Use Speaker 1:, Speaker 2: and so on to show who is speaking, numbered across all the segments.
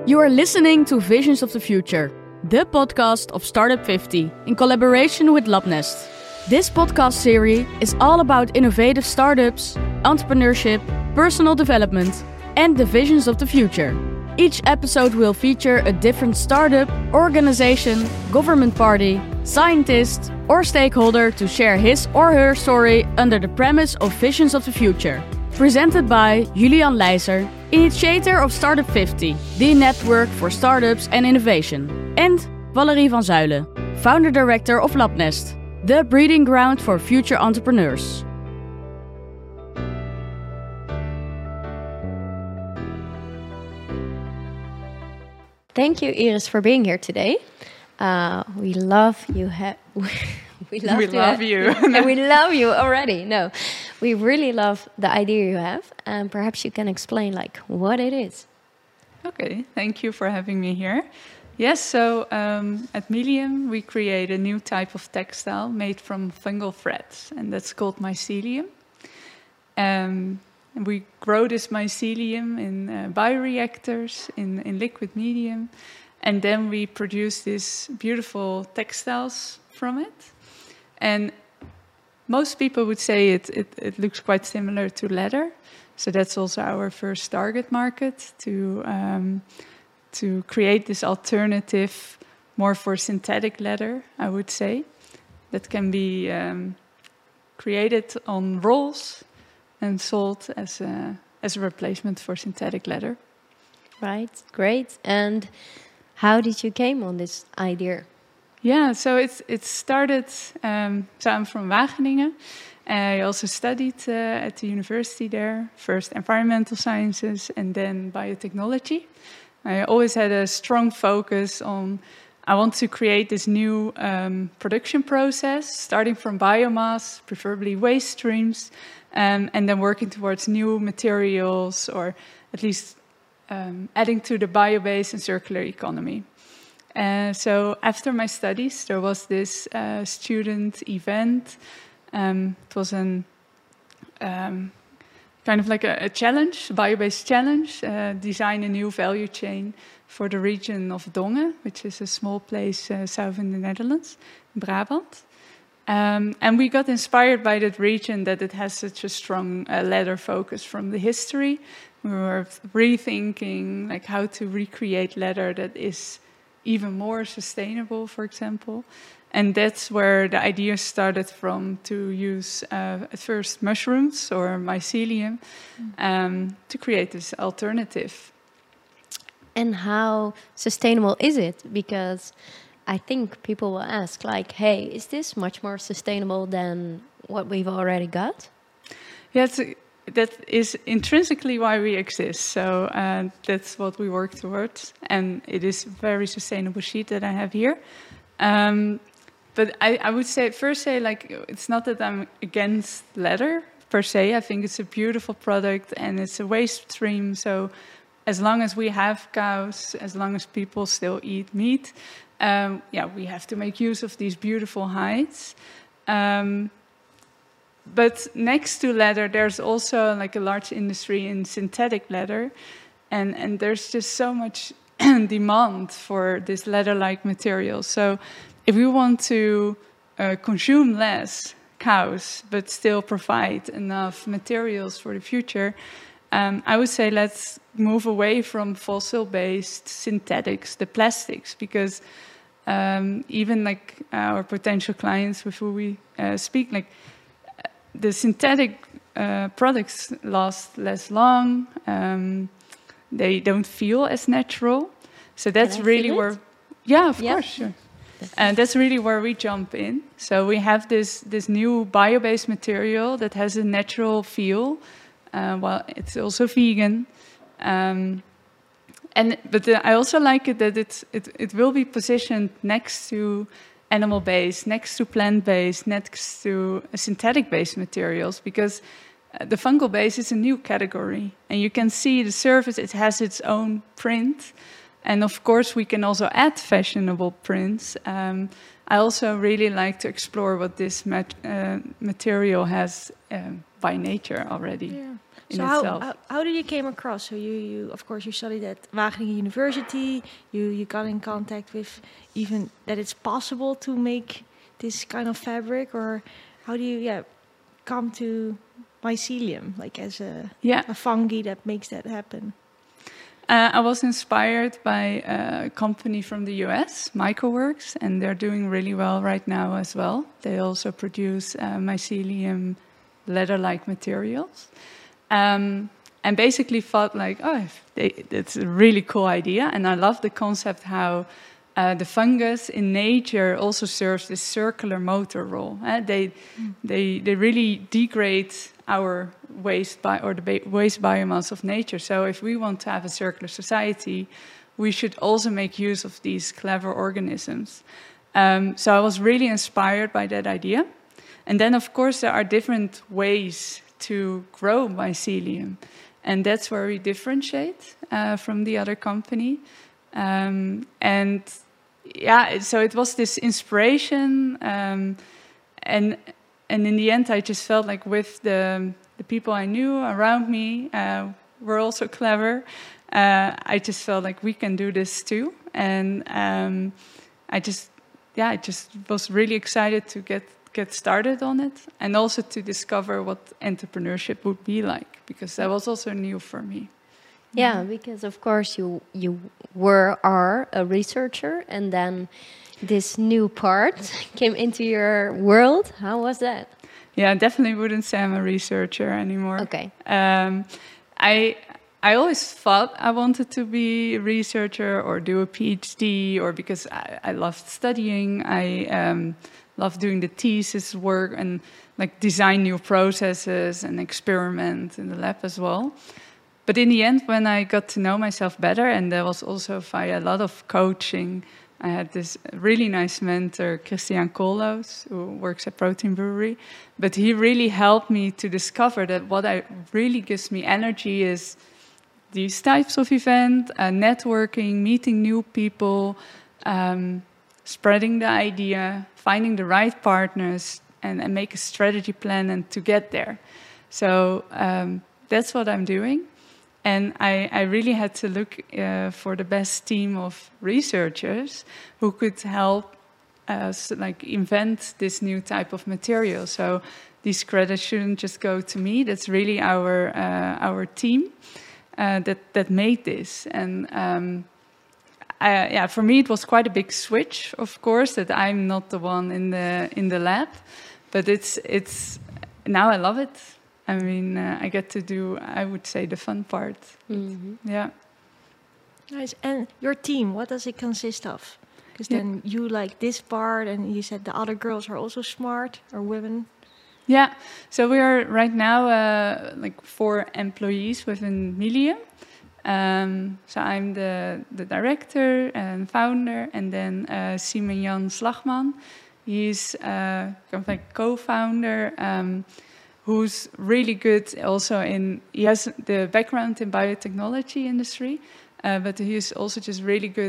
Speaker 1: You are listening to Visions of the Future, the podcast of Startup 50 in collaboration with Labnest. This podcast series is all about innovative startups, entrepreneurship, personal development, and the visions of the future. Each episode will feature a different startup, organization, government party, scientist, or stakeholder to share his or her story under the premise of Visions of the Future. Presented by Julian Leijzer, initiator of Startup 50, the network for startups and innovation. And Valerie van Zuylen, founder director of Labnest, the breeding ground for future entrepreneurs.
Speaker 2: Thank you, Iris, for being here today. We love you. We love you. And we love you already. No, we really love the idea you have. And perhaps you can explain what it is.
Speaker 3: Okay, thank you for having me here. Yes, so at Milium, we create a new type of textile made from fungal threads, and that's called mycelium. And we grow this mycelium in bioreactors, in liquid medium, and then we produce these beautiful textiles from it. And most people would say it looks quite similar to leather. So that's also our first target market, to create this alternative more for synthetic leather, I would say, that can be created on rolls and sold as a replacement for synthetic leather.
Speaker 2: Right, great. And how did you came on this idea?
Speaker 3: Yeah, so it started, so I'm from Wageningen. I also studied at the university there, first environmental sciences and then biotechnology. I always had a strong focus on, I want to create this new production process, starting from biomass, preferably waste streams, and then working towards new materials, or at least adding to the bio-based and circular economy. So after my studies, there was this student event. It was kind of like a challenge, a bio-based challenge, design a new value chain for the region of Dongen, which is a small place south in the Netherlands, in Brabant. And we got inspired by that region, that it has such a strong leather focus from the history. We were rethinking how to recreate leather that is even more sustainable, for example. And that's where the idea started from, to use at first mushrooms or mycelium to create this alternative.
Speaker 2: And how sustainable is it? Because I think people will ask, hey, is this much more sustainable than what we've already got?
Speaker 3: Yeah, that is intrinsically why we exist. So that's what we work towards. And it is a very sustainable sheet that I have here. But I would say, it's not that I'm against leather per se. I think it's a beautiful product and it's a waste stream. So as long as we have cows, as long as people still eat meat, we have to make use of these beautiful hides. But next to leather, there's also a large industry in synthetic leather. And there's just so much demand for this leather-like material. So if we want to consume less cows, but still provide enough materials for the future, I would say let's move away from fossil-based synthetics, the plastics, because even our potential clients with who we speak, the synthetic products last less long. They don't feel as natural. So that's really where... Yeah, of course, sure. And that's really where we jump in. So we have this new bio-based material that has a natural feel. It's also vegan. But I also like it that it will be positioned next to animal-based, next to plant-based, next to synthetic-based materials, because the fungal base is a new category. And you can see the surface, it has its own print. And of course, we can also add fashionable prints. I also really like to explore what this material has by nature already.
Speaker 4: Yeah.
Speaker 3: In
Speaker 4: so
Speaker 3: itself.
Speaker 4: how did you came across? So you of course you studied at Wageningen University. You got in contact with even that it's possible to make this kind of fabric, or how do you come to mycelium, like as a fungi that makes that happen?
Speaker 3: I was inspired by a company from the US, Mycoworks, and they're doing really well right now as well. They also produce mycelium leather-like materials. And basically thought like, that's a really cool idea. And I love the concept how the fungus in nature also serves this circular motor role. They really degrade our waste waste biomass of nature. So if we want to have a circular society, we should also make use of these clever organisms. So I was really inspired by that idea. And then, of course, there are different ways to grow mycelium. And that's where we differentiate from the other company. So it was this inspiration. And in the end, I just felt like with the people I knew around me were also clever. I just felt like we can do this too. And I just was really excited to get started on it, and also to discover what entrepreneurship would be like, because that was also new for me.
Speaker 2: Yeah, because of course you are a researcher, and then this new part came into your world. How was that?
Speaker 3: Yeah, I definitely wouldn't say I'm a researcher anymore.
Speaker 2: Okay.
Speaker 3: I always thought I wanted to be a researcher or do a PhD, or because I loved studying. I love doing the thesis work and like design new processes and experiment in the lab as well. But in the end, when I got to know myself better, and there was also via a lot of coaching, I had this really nice mentor, Christian Koolhoos, who works at Protein Brewery. But he really helped me to discover that what really gives me energy is these types of events, networking, meeting new people, spreading the idea, finding the right partners, and make a strategy plan and to get there. So that's what I'm doing. And I really had to look for the best team of researchers who could help us invent this new type of material. So these credits shouldn't just go to me. That's really our team that made this. And for me, it was quite a big switch, of course, that I'm not the one in the lab, but it's now I love it. I mean, I get to do, I would say, the fun part. Mm-hmm. Yeah.
Speaker 4: Nice. And your team, what does it consist of? Because then you like this part, and you said the other girls are also smart, or women.
Speaker 3: Yeah. So we are right now 4 employees within Milium. So I'm the director and founder, and then Simon Jan Slagman. He's co-founder. Who's really good also he has the background in biotechnology industry, but he's also just really good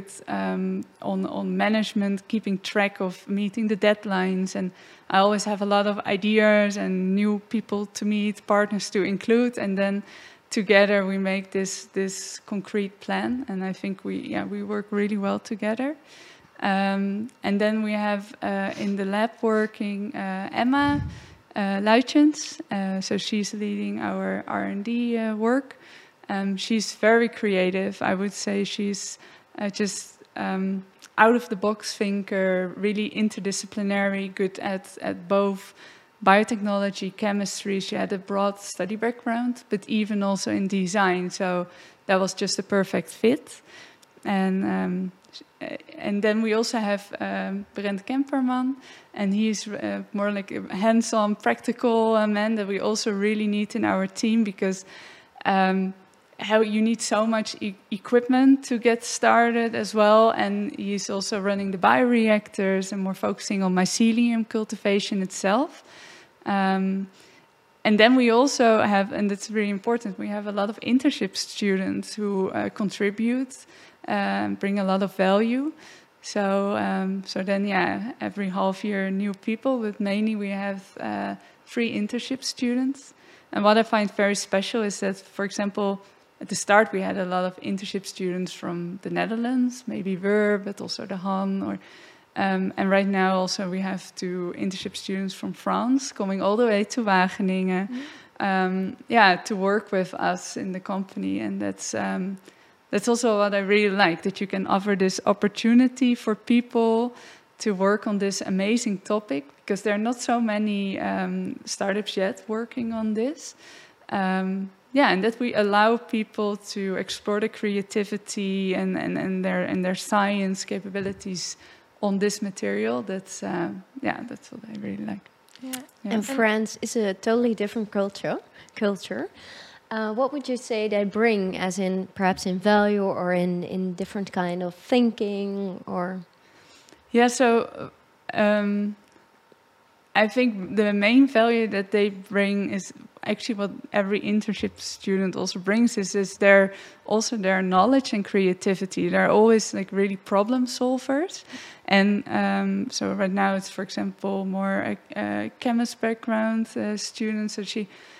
Speaker 3: on management, keeping track of meeting the deadlines. And I always have a lot of ideas and new people to meet, partners to include, and then together we make this concrete plan. And I think we work really well together. And then we have in the lab working Emma Luitjens, so she's leading our R&D work. She's very creative. I would say she's just out-of-the-box thinker, really interdisciplinary, good at both biotechnology, chemistry. She had a broad study background, but even also in design. So that was just a perfect fit. And then we also have Brent Kemperman, and he's more like a hands-on, practical man that we also really need in our team, because how you need so much equipment to get started as well. And he's also running the bioreactors and more focusing on mycelium cultivation itself. And then we also have, and that's really important, we have a lot of internship students who contribute. bring a lot of value. So then, every half year new people, but mainly we have 3 internship students. And what I find very special is that, for example, at the start we had a lot of internship students from the Netherlands, maybe Weur, but also the Han, and right now also we have 2 internship students from France coming all the way to Wageningen, to work with us in the company. And that's also what I really like, that you can offer this opportunity for people to work on this amazing topic, because there are not so many startups yet working on this. And that we allow people to explore the creativity and their science capabilities on this material. That's what I really like.
Speaker 2: Yeah. And France is a totally different culture. What would you say they bring, as in perhaps in value or in different kind of thinking or?
Speaker 3: Yeah, so I think the main value that they bring is actually what every internship student also brings is their knowledge and creativity. They're always like really problem solvers. And so right now it's, for example, more a chemist background student. So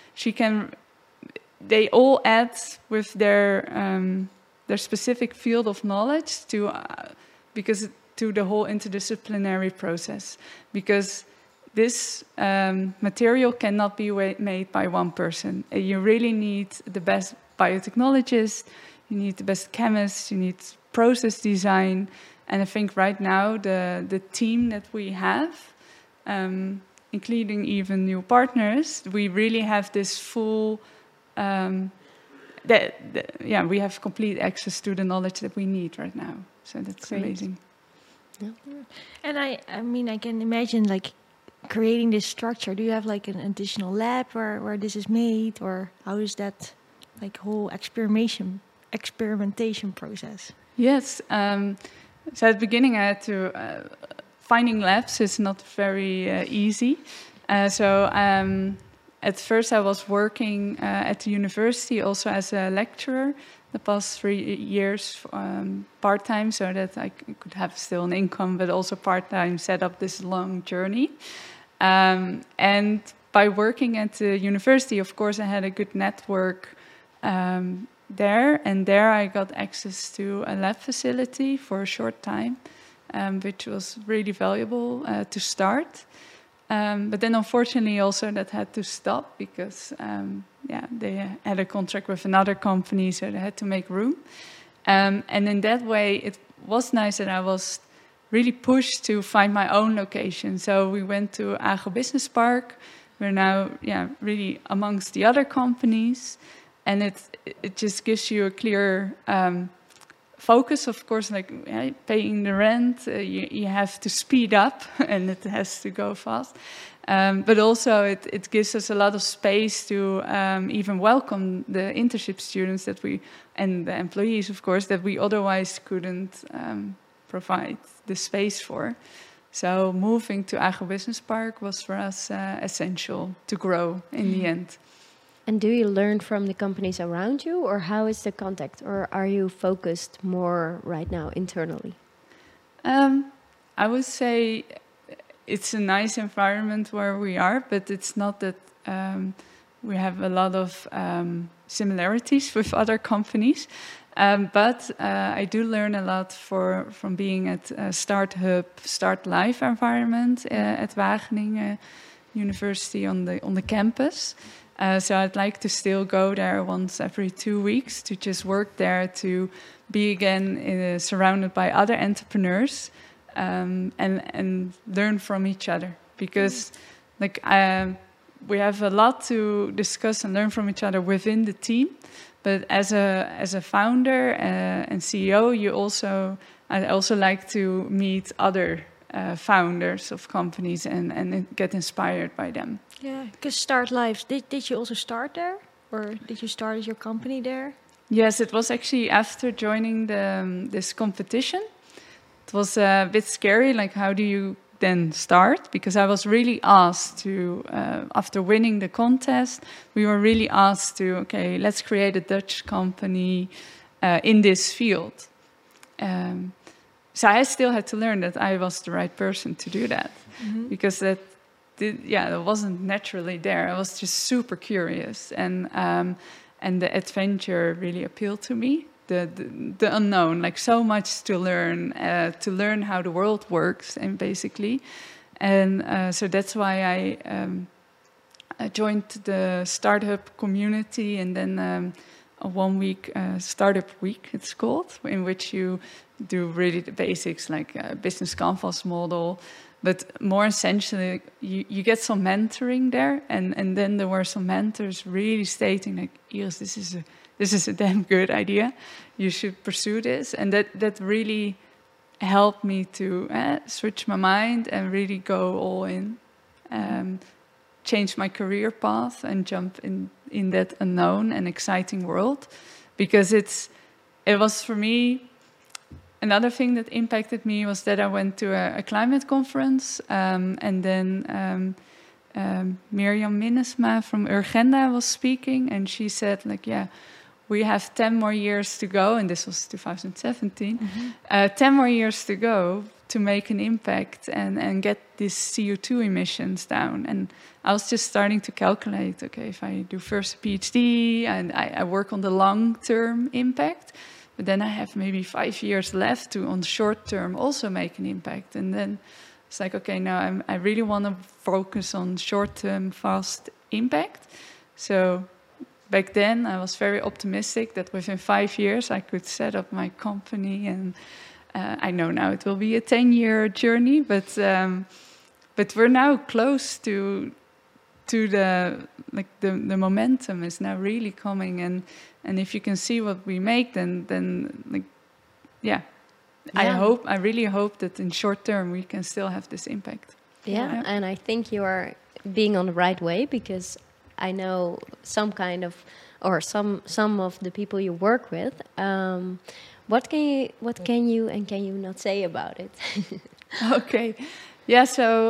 Speaker 3: they all add with their specific field of knowledge to the whole interdisciplinary process, because this material cannot be made by one person. You really need the best biotechnologist, you need the best chemist, you need process design. And I think right now the team that we have, including even new partners, we really have this full... we have complete access to the knowledge that we need right now. So that's great. Amazing.
Speaker 4: Yeah. And I mean, I can imagine like creating this structure. Do you have like an additional lab where this is made, or how is that like whole experimentation process?
Speaker 3: Yes. So at the beginning, I had to finding labs is not very easy. At first, I was working at the university also as a lecturer the past 3 years part-time, so that I could have still an income, but also part-time set up this long journey. And by working at the university, of course, I had a good network there. And there I got access to a lab facility for a short time, which was really valuable to start. But then unfortunately also that had to stop because they had a contract with another company, so they had to make room. And in that way, it was nice that I was really pushed to find my own location. So we went to Agro Business Park. We're now really amongst the other companies. And it just gives you a clear focus, of course, like paying the rent, you have to speed up and it has to go fast. But also it gives us a lot of space to even welcome the internship students and the employees, of course, that we otherwise couldn't provide the space for. So moving to Agro Business Park was for us essential to grow in the end.
Speaker 2: And do you learn from the companies around you, or how is the contact? Or are you focused more right now internally?
Speaker 3: I would say it's a nice environment where we are, but it's not that we have a lot of similarities with other companies. But I do learn a lot from being at Start Hub, Start Live environment at Wageningen University on the campus. So I'd like to still go there once every 2 weeks to just work there, to be again surrounded by other entrepreneurs and learn from each other. Because we have a lot to discuss and learn from each other within the team. But as a founder and CEO, I also like to meet other founders of companies and get inspired by them.
Speaker 4: Yeah, because Start Live, did you also start there? Or did you start your company there?
Speaker 3: Yes, it was actually after joining this competition. It was a bit scary, like how do you then start? Because I was really asked to, after winning the contest, we were really asked to, okay, let's create a Dutch company in this field. So I still had to learn that I was the right person to do that, because that wasn't naturally there. I was just super curious, and the adventure really appealed to me. The unknown, like so much to learn how the world works, and basically, and so that's why I joined the startup community, and then a 1 week startup week, it's called, in which you do really the basics, like a business canvas model, but more essentially, you get some mentoring there, and then there were some mentors really stating, like, Iris, this is a damn good idea. You should pursue this, and that really helped me to switch my mind and really go all in, change my career path and jump in that unknown and exciting world, because it was for me. Another thing that impacted me was that I went to a climate conference, and then Mirjam Minnesma from Urgenda was speaking, and she said, like, we have 10 more years to go, and this was 2017, 10 more years to go to make an impact and get these CO2 emissions down. And I was just starting to calculate, okay, if I do first a PhD and I work on the long-term impact, but then I have maybe 5 years left to, on the short term, also make an impact. And then it's like, okay, now I really want to focus on short-term, fast impact. So back then, I was very optimistic that within 5 years, I could set up my company. And I know now it will be a 10-year journey, but we're now close to the momentum is now really coming, and if you can see what we make, then like, I really hope that in short term we can still have this impact.
Speaker 2: Yeah, and I think you are being on the right way, because I know some of the people you work with. What can you not say about it?
Speaker 3: Okay, yeah. So,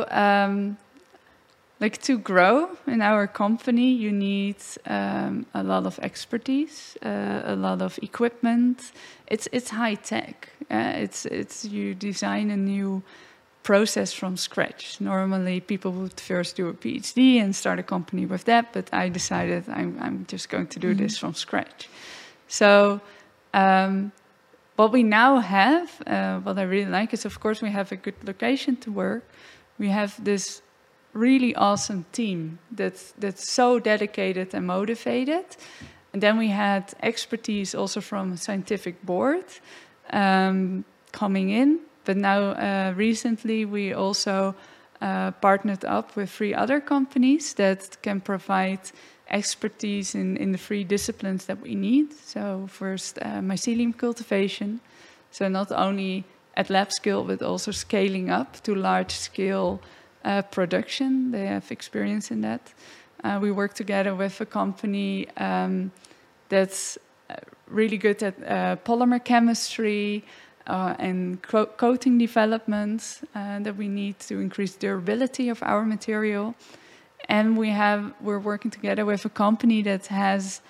Speaker 3: like, to grow in our company, you need a lot of expertise, a lot of equipment. It's high tech. It's you design a new process from scratch. Normally, people would first do a PhD and start a company with that, but I decided I'm just going to do this from scratch. So, what we now have, what I really like is, of course, we have a good location to work. We have this really awesome team that's so dedicated and motivated. And then we had expertise also from a scientific board coming in. But now recently we also partnered up with 3 other companies that can provide expertise in the 3 disciplines that we need. So first, mycelium cultivation. So not only at lab scale, but also scaling up to large scale production. They have experience in that. We work together with a company that's really good at polymer chemistry and coating development that we need to increase durability of our material. And we're working together with a company that has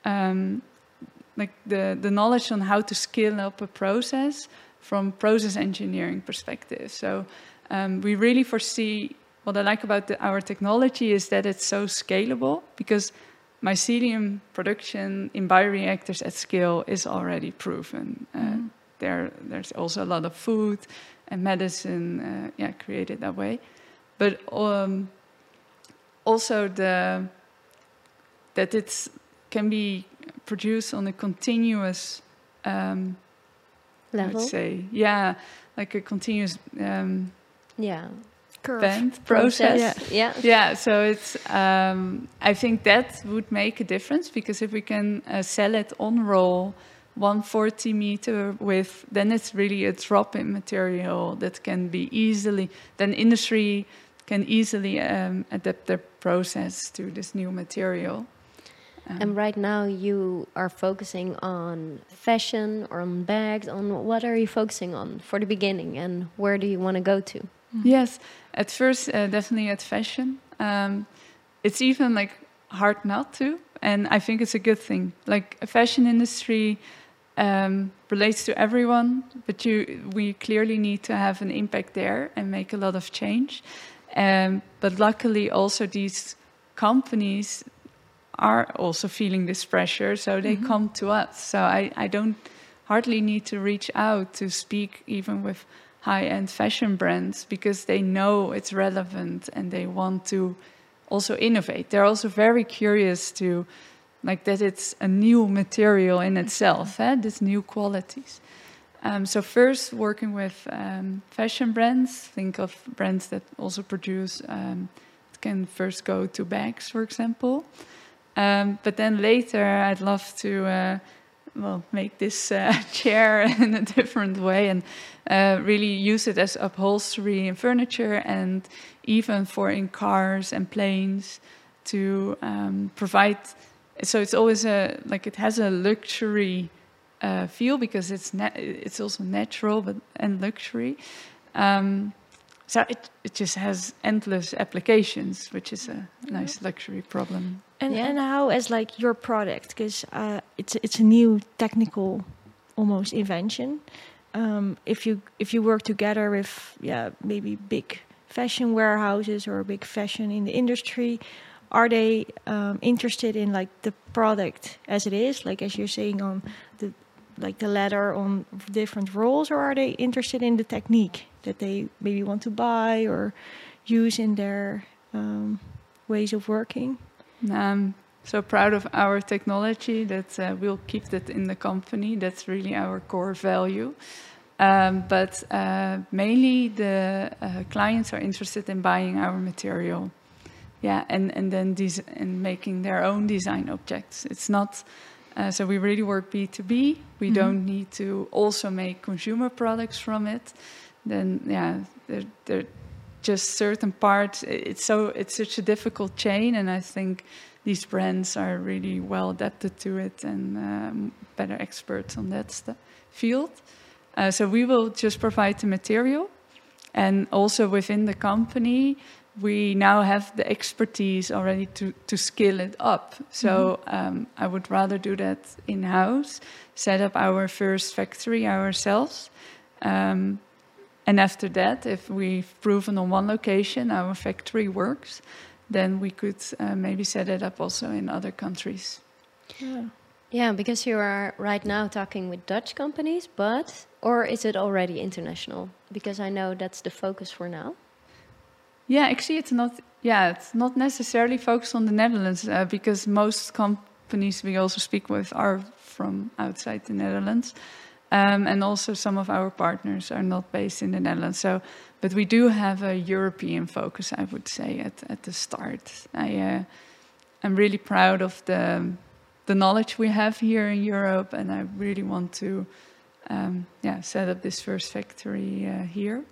Speaker 3: like the knowledge on how to scale up a process from process engineering perspective. So we really foresee, what I like about our technology is that it's so scalable, because mycelium production in bioreactors at scale is already proven. There's also a lot of food and medicine created that way. But also that it can be produced on a continuous
Speaker 2: level.
Speaker 3: Let's say, like a continuous
Speaker 2: curve
Speaker 3: process.
Speaker 2: Yeah.
Speaker 3: So it's I think that would make a difference, because if we can sell it on roll 140 meter width, then it's really a drop-in material that can be easily, then industry can easily adapt their process to this new material.
Speaker 2: And right now you are focusing on fashion or on bags. On what are you focusing on for the beginning, and where do you want to go to?
Speaker 3: Yes, at first definitely at fashion. It's even like hard not to, and I think it's a good thing. Like a fashion industry relates to everyone, but we clearly need to have an impact there and make a lot of change. But luckily, also these companies are also feeling this pressure, so they come to us. So I don't hardly need to reach out to speak even with high-end fashion brands, because they know it's relevant and they want to also innovate. They're also very curious to, like, that it's a new material in itself, these new qualities. So first, working with fashion brands, think of brands that also produce, can first go to bags, for example. But then later, I'd love to make this chair in a different way and really use it as upholstery in furniture, and even for in cars and planes to provide. So it's always it has a luxury feel, because it's also natural and luxury. So it just has endless applications, which is a nice luxury problem.
Speaker 4: And how, as like your product, because it's a new technical almost invention. If you work together with maybe big fashion warehouses or big fashion in the industry, are they interested in like the product as it is, like as you're saying on the leather on different rolls, or are they interested in the technique that they maybe want to buy or use in their ways of working?
Speaker 3: I'm so proud of our technology that we'll keep that in the company. That's really our core value. But mainly the clients are interested in buying our material. Yeah, and then and making their own design objects. It's not, so we really work B2B. We don't need to also make consumer products from it. Then, they're just certain parts. It's such a difficult chain, and I think these brands are really well adapted to it and better experts on that field. So we will just provide the material, and also within the company, we now have the expertise already to scale it up. So I would rather do that in-house, set up our first factory ourselves. And after that, if we've proven on one location our factory works, then we could maybe set it up also in other countries.
Speaker 2: Yeah, because you are right now talking with Dutch companies, or is it already international? Because I know that's the focus for now.
Speaker 3: Yeah, actually, it's not necessarily focused on the Netherlands, because most companies we also speak with are from outside the Netherlands. And also some of our partners are not based in the Netherlands. So, but we do have a European focus, I would say, at the start. I'm really proud of the knowledge we have here in Europe, and I really want to set up this first factory here.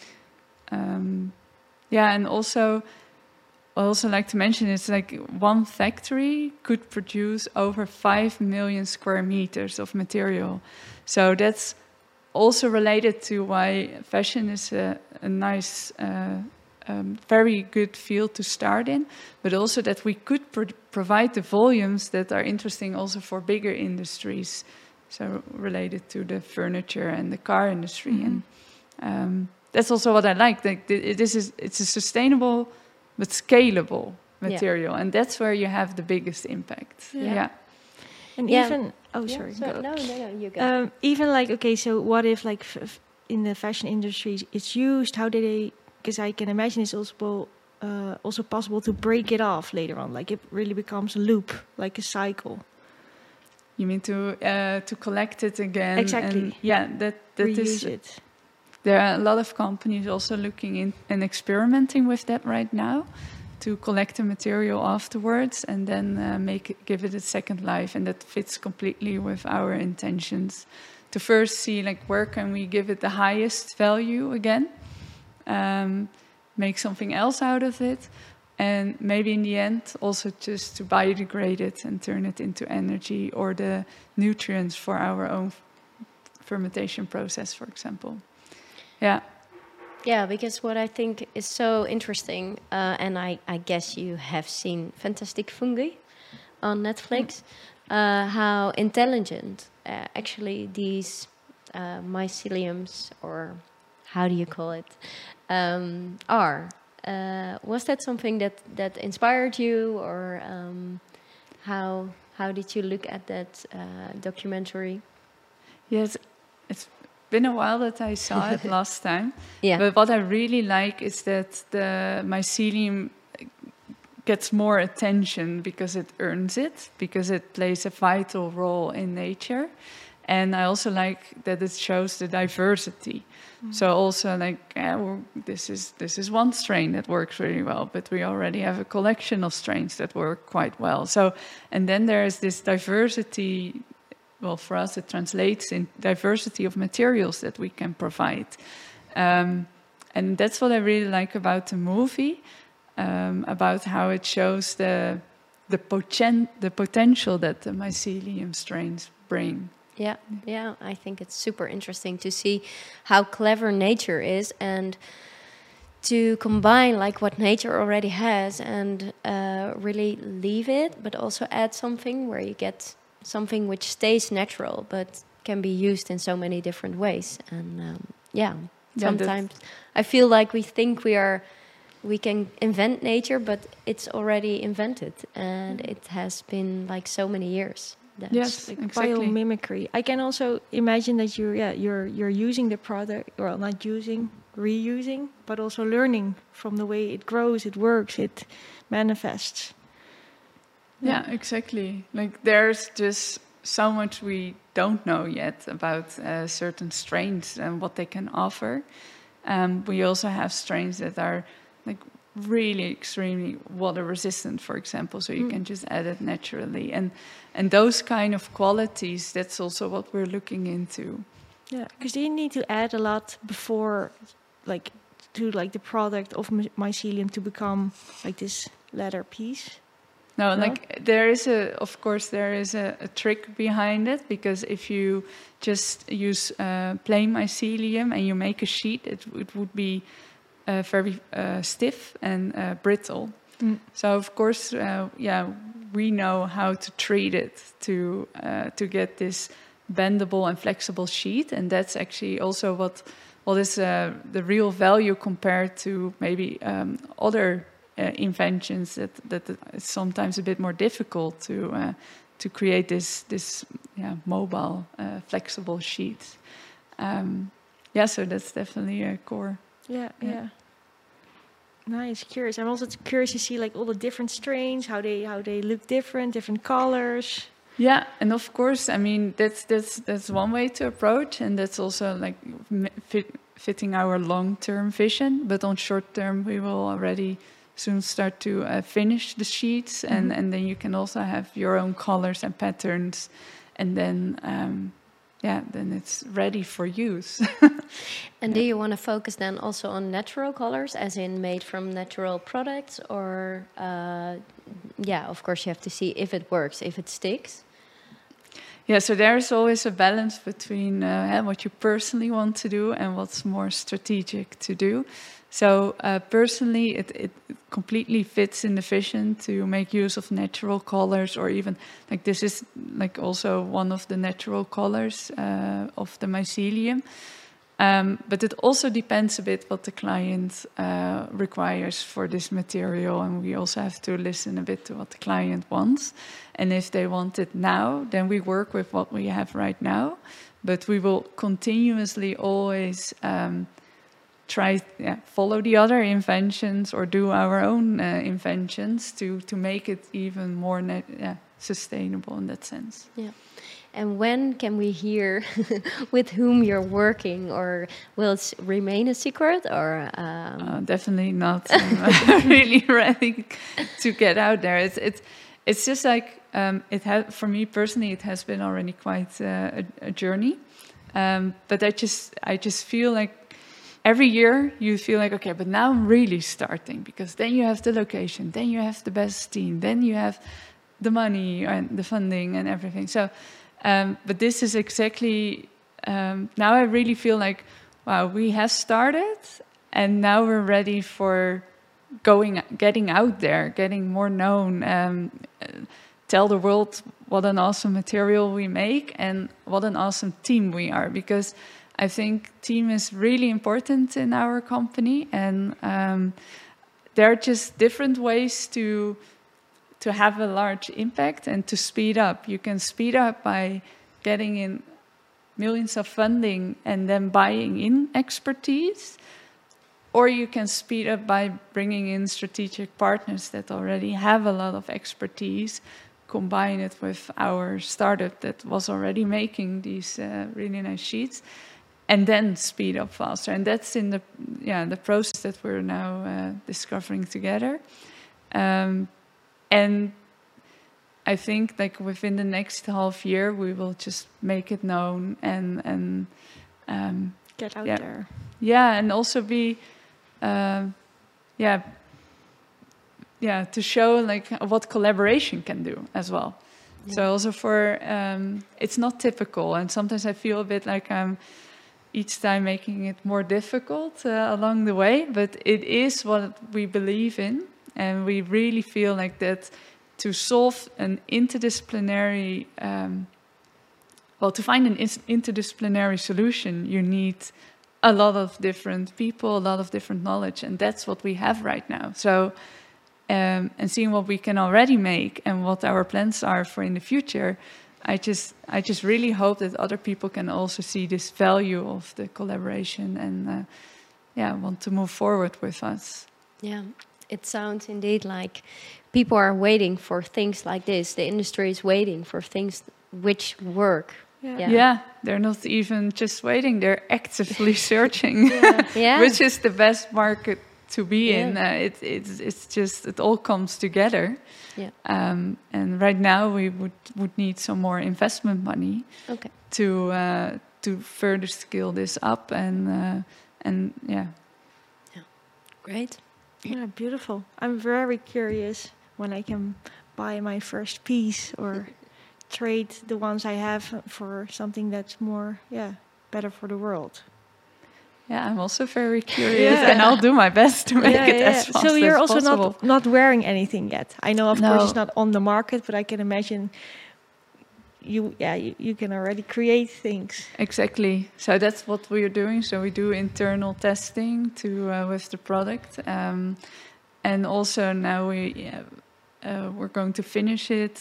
Speaker 3: And also, I also like to mention, it's like one factory could produce over 5 million square meters of material. So that's also related to why fashion is a nice, very good field to start in, but also that we could provide the volumes that are interesting also for bigger industries, so related to the furniture and the car industry. And that's also what I like. Like it's a sustainable but scalable material, and that's where you have the biggest impact.
Speaker 4: And even sorry,
Speaker 2: no, you go.
Speaker 4: Even like, okay, so what if like in the fashion industry it's used? How do they? Because I can imagine it's also possible to break it off later on. Like it really becomes a loop, like a cycle.
Speaker 3: You mean to collect it again?
Speaker 4: Exactly.
Speaker 3: And that
Speaker 4: reuse
Speaker 3: is
Speaker 4: it.
Speaker 3: There are a lot of companies also looking in and experimenting with that right now, to collect the material afterwards and then give it a second life. And that fits completely with our intentions. To first see like where can we give it the highest value again, make something else out of it, and maybe in the end also just to biodegrade it and turn it into energy or the nutrients for our own fermentation process, for example.
Speaker 2: Yeah, because what I think is so interesting, and I guess you have seen Fantastic Fungi on Netflix, how intelligent actually these myceliums, or how do you call it, are. Was that something that inspired you, or how did you look at that documentary?
Speaker 3: Yes, it's been a while that I saw it last time.
Speaker 2: Yeah.
Speaker 3: But what I really like is that the mycelium gets more attention because it earns it, because it plays a vital role in nature. And I also like that it shows the diversity. So also this is one strain that works really well, but we already have a collection of strains that work quite well. So, and then there is this diversity. Well, for us, it translates in diversity of materials that we can provide. And that's what I really like about the movie, about how it shows the potential that the mycelium strains bring.
Speaker 2: Yeah, I think it's super interesting to see how clever nature is, and to combine like what nature already has and really leave it, but also add something where you get something which stays natural but can be used in so many different ways. And sometimes I feel like we think we can invent nature, but it's already invented, and it has been like so many years. That's
Speaker 3: yes,
Speaker 4: like
Speaker 3: exactly.
Speaker 4: Biomimicry. I can also imagine that you're using the product, well, not using, reusing, but also learning from the way it grows, it works, it manifests.
Speaker 3: Yeah, exactly. Like there's just so much we don't know yet about certain strains and what they can offer. We also have strains that are like really extremely water resistant, for example, so you can just add it naturally. And those kind of qualities, that's also what we're looking into.
Speaker 4: Yeah, because you need to add a lot before, like, to like the product of mycelium to become like this leather piece.
Speaker 3: No, like there is a trick behind it, because if you just use plain mycelium and you make a sheet, it would be very stiff and brittle. So of course, we know how to treat it to get this bendable and flexible sheet, and that's actually also what is the real value compared to maybe other inventions that it's sometimes a bit more difficult to create this mobile flexible sheet. So that's definitely a core.
Speaker 4: Yeah. Nice, curious. I'm also curious to see like all the different strains, how they look different colors.
Speaker 3: Yeah, and of course, I mean that's one way to approach, and that's also like fitting our long-term vision. But on short term, we will already soon start to finish the sheets, and then you can also have your own colors and patterns, and then then it's ready for use.
Speaker 2: And do you want to focus then also on natural colors, as in made from natural products, or of course you have to see if it works, if it sticks?
Speaker 3: Yeah, so there's always a balance between what you personally want to do and what's more strategic to do. So personally, it completely fits in the vision to make use of natural colors, or even like this is like also one of the natural colors of the mycelium. But it also depends a bit what the client requires for this material, and we also have to listen a bit to what the client wants. And if they want it now, then we work with what we have right now. But we will continuously always try follow the other inventions or do our own inventions to make it even more sustainable in that sense.
Speaker 2: Yeah. And when can we hear with whom you're working, or will it remain a secret? Or
Speaker 3: definitely not. I'm really ready to get out there. It's just like for me personally, it has been already quite a journey. But I just feel like every year you feel like, okay, but now I'm really starting, because then you have the location, then you have the best team, then you have the money and the funding and everything. So. But this is exactly, now I really feel like, wow, we have started, and now we're ready for getting out there, getting more known, tell the world what an awesome material we make and what an awesome team we are, because I think team is really important in our company, and there are just different ways to have a large impact and to speed up. You can speed up by getting in millions of funding and then buying in expertise, or you can speed up by bringing in strategic partners that already have a lot of expertise, combine it with our startup that was already making these really nice sheets, and then speed up faster. And that's in the process that we're now discovering together. And I think like within the next half year, we will just make it known and
Speaker 4: get out there.
Speaker 3: Yeah, and also be, to show like what collaboration can do as well. Yeah. So also for, it's not typical, and sometimes I feel a bit like I'm each time making it more difficult along the way, but it is what we believe in, and we really feel like that to solve an interdisciplinary, to find an interdisciplinary solution, you need a lot of different people, a lot of different knowledge, and that's what we have right now. So, and seeing what we can already make and what our plans are for in the future, I just really hope that other people can also see this value of the collaboration and want to move forward with us.
Speaker 2: Yeah, it sounds indeed like people are waiting for things like this. The industry is waiting for things which work.
Speaker 3: Yeah, they're not even just waiting; they're actively searching, which is the best market to be in. It's just it all comes together. Yeah. And right now we would need some more investment money to further scale this up and.
Speaker 2: Great.
Speaker 4: Yeah, beautiful. I'm very curious when I can buy my first piece or trade the ones I have for something that's more, better for the world.
Speaker 3: Yeah, I'm also very curious, and I'll do my best to make it as fast as possible.
Speaker 4: So you're also not wearing anything yet. I know, of course, it's not on the market, but I can imagine you can already create things.
Speaker 3: Exactly. So that's what we are doing. So we do internal testing with the product, and also now we're going to finish it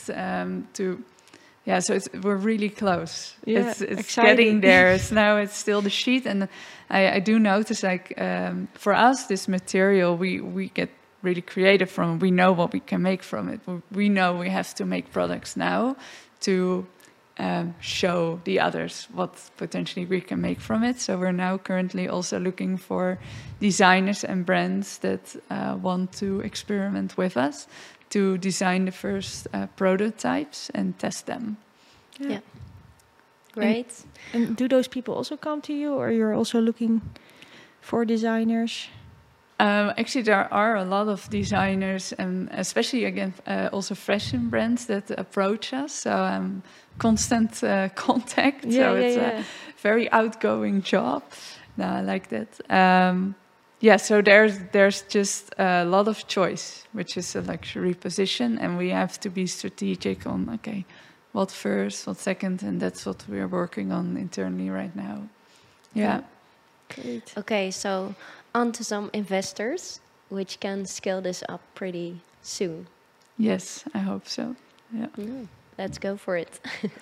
Speaker 3: so we're really close.
Speaker 4: Yeah,
Speaker 3: it's getting there. It's still the sheet, and I do notice like for us this material we get really creative from. We know what we can make from it. We know we have to make products now to show the others what potentially we can make from it. So we're now currently also looking for designers and brands that want to experiment with us to design the first prototypes and test them.
Speaker 2: Yeah. Great.
Speaker 4: And do those people also come to you, or you're also looking for designers?
Speaker 3: Actually, there are a lot of designers, and especially again also fashion brands that approach us. So constant contact. So it's a very outgoing job. No, I like that. So there's just a lot of choice, which is a luxury position, and we have to be strategic on what first, what second, and that's what we're working on internally right now. Yeah.
Speaker 2: Great. Okay, so on to some investors, which can scale this up pretty soon.
Speaker 3: Yes, I hope so. Yeah.
Speaker 2: Let's go for it.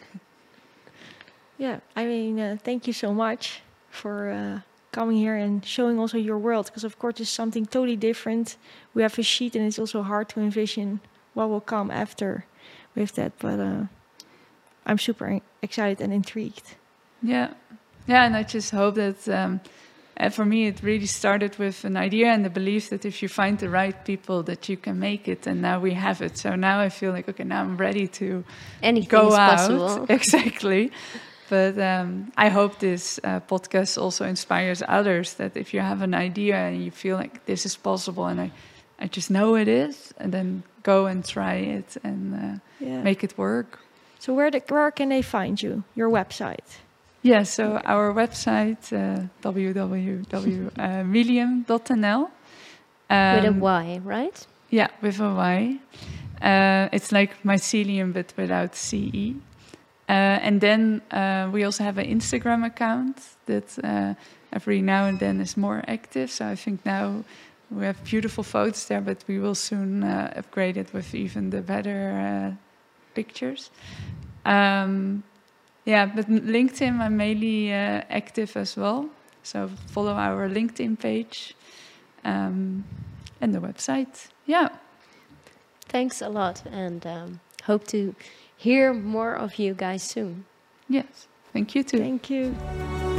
Speaker 4: I mean, thank you so much for coming here and showing also your world, because of course it's something totally different. We have a sheet, and it's also hard to envision what will come after with that. But I'm super excited and intrigued.
Speaker 3: Yeah, and I just hope that for me it really started with an idea and the belief that if you find the right people, that you can make it. And now we have it. So now I feel like now I'm ready to go out.
Speaker 2: Possible.
Speaker 3: Exactly. But I hope this podcast also inspires others, that if you have an idea and you feel like this is possible, and I just know it is, and then go and try it and make it work.
Speaker 4: So where can they find you? Your website?
Speaker 3: Yeah, so our website, www.milium.nl.
Speaker 2: With a Y, right?
Speaker 3: Yeah, with a Y. It's like mycelium, but without CE. And then we also have an Instagram account that every now and then is more active. So I think now we have beautiful photos there, but we will soon upgrade it with even the better pictures. But LinkedIn, I'm mainly active as well. So follow our LinkedIn page and the website. Yeah.
Speaker 2: Thanks a lot, and hope to hear more of you guys soon.
Speaker 3: Yes. Thank you too.
Speaker 4: Thank you.